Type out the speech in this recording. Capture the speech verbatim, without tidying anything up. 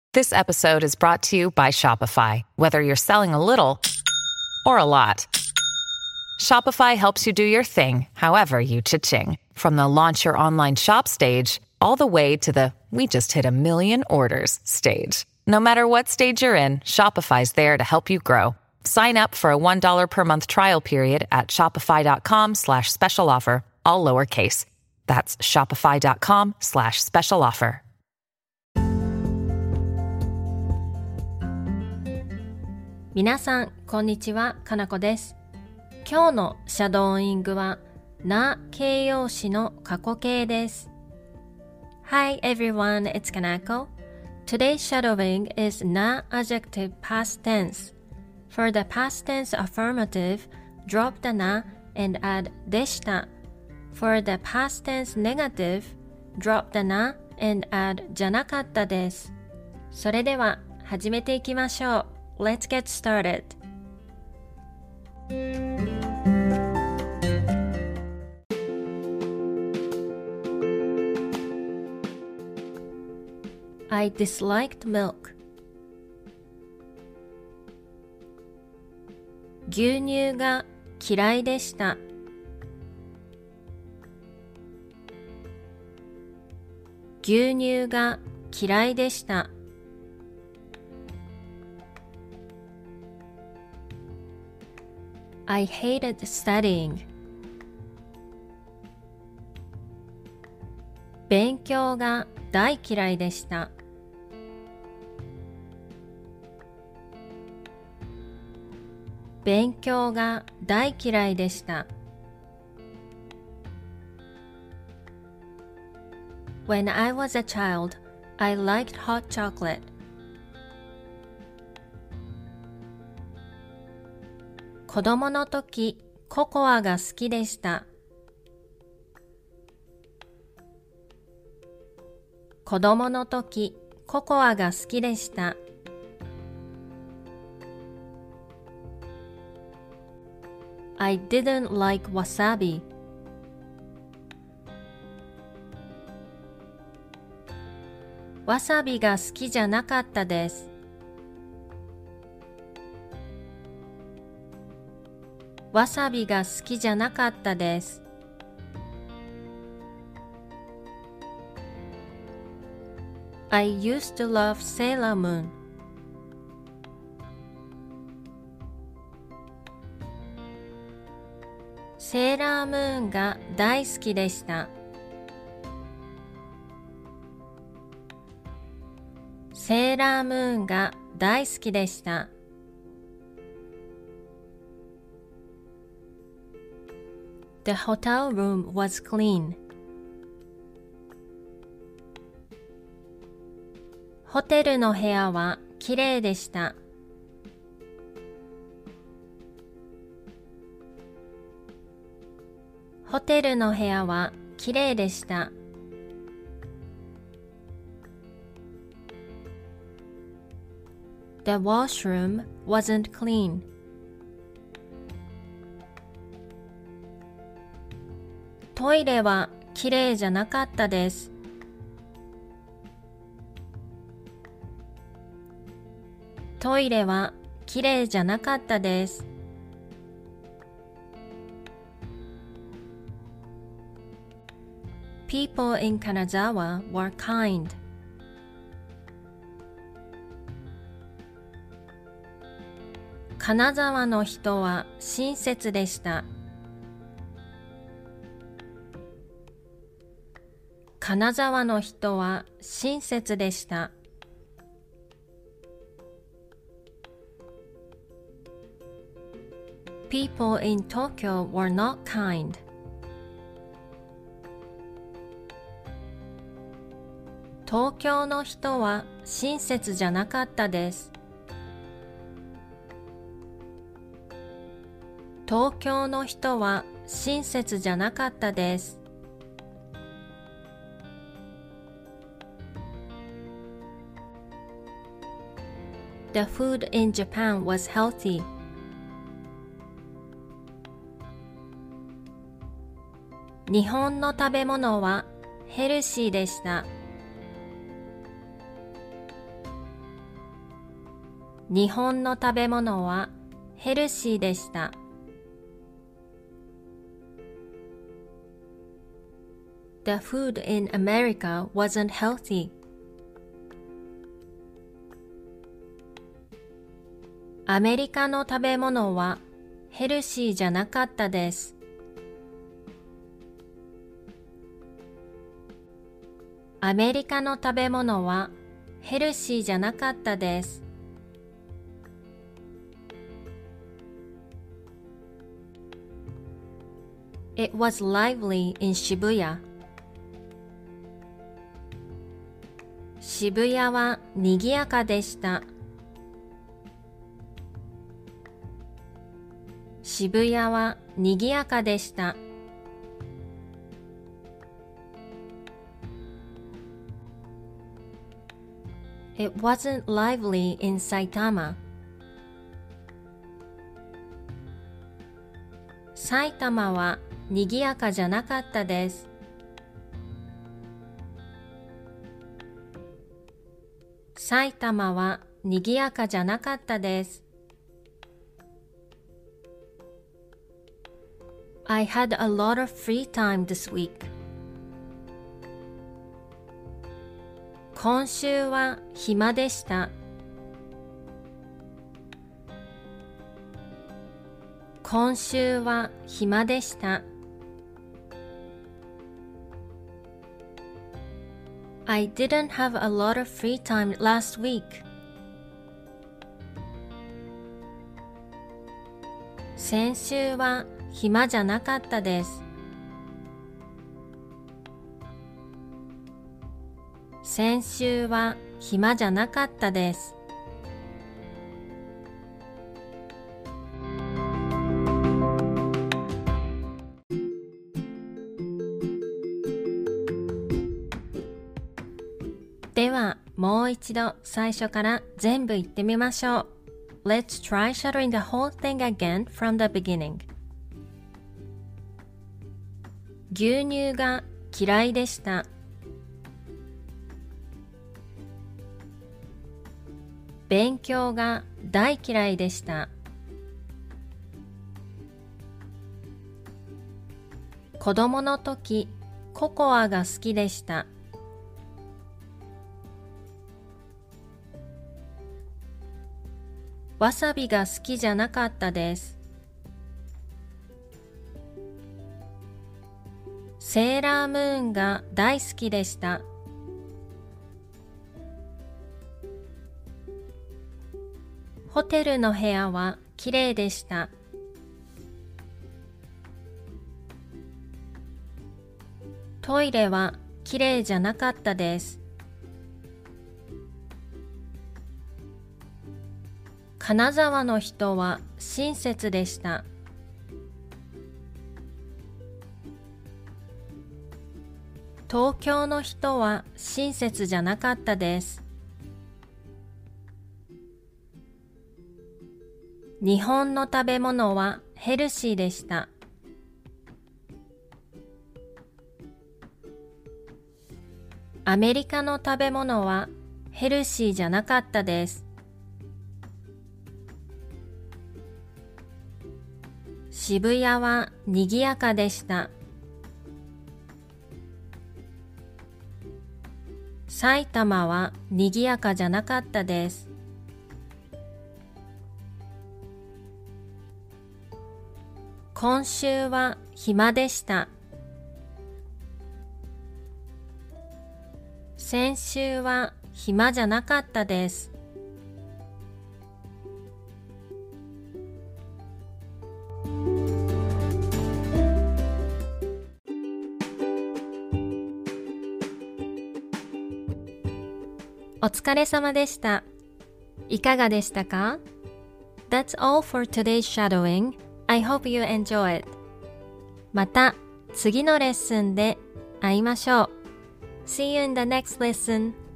This episode is brought to you by Shopify. Whether you're selling a little or a lot, Shopify helps you do your thing, however you cha-ching. From the launch your online shop stage, all the way to the we just hit a million orders stage. No matter what stage you're in, Shopify's there to help you grow. Sign up for a one dollar per month trial period at shopify.com slash special offer, all lowercase. That's shopify.com slash special offer. 皆さん、こんにちは。かなこです。今日のシャドーイングは、な形容詞の過去形です。Hi everyone, it's Kanako. Today's shadowing is na adjective past tense. For the past tense affirmative, drop the na and add でした。For the past tense negative, drop the na and add じゃなかったです。それでは始めていきましょう。Let's get started. I disliked milk. 牛乳が嫌いでした。牛乳が嫌いでした。I hated studying. 勉強が大嫌いでした。勉強が大嫌いでした。When I was a child, I liked hot chocolate. 子供の時、ココアが好きでした。子供の時、ココアが好きでした。I didn't like wasabi. わさびが好きじゃなかったです。わさびが好きじゃなかったです。I used to love Sailor Moon. セーラームーンが大好きでした。セーラームーンが大好きでした。The hotel room was clean. ホテルの部屋はきれいでした。ホテルの部屋はきれいでした。The washroom wasn't clean. トイレはきれいじゃなかったです。トイレはきれいじゃなかったです。People in Kanazawa were kind. 金沢の人は親切でした。金沢の人は親切でした。People in Tokyo were not kind. 東京の人は親切じゃなかったです。東京の人は親切じゃなかったです。The food in Japan was healthy. 日本の食べ物はヘルシーでした。 日本の食べ物はヘルシーでした。The food in America wasn't healthy. アメリカの食べ物はヘルシーじゃなかったです。アメリカの食べ物はヘルシーじゃなかったです。It was lively in Shibuya. 渋谷は賑やかでした。渋谷は賑やかでした。It wasn't lively in Saitama. 埼玉は賑やかじゃなかったです。埼玉は賑やかじゃなかったです。I had a lot of free time this week. 今週は暇でした。今週は暇でした。I didn't have a lot of free time last week. 先週は暇じゃなかったです。先週は暇じゃなかったです。では、もう一度最初から全部言ってみましょう。Let's try shadowing the whole thing again from the beginning. 牛乳が嫌いでした。勉強が大嫌いでした。子供の時、ココアが好きでした。わさびが好きじゃなかったです。セーラームーンが大好きでした。ホテルの部屋はきれいでした。トイレはきれいじゃなかったです。金沢の人は親切でした。東京の人は親切じゃなかったです。日本の食べ物はヘルシーでした。アメリカの食べ物はヘルシーじゃなかったです。渋谷は賑やかでした。埼玉は賑やかじゃなかったです。今週は暇でした。先週は暇じゃなかったです。お疲れ様でした。いかがでしたか？ That's all for today's shadowing. I hope you enjoy it. また次のレッスンで会いましょう。See you in the next lesson.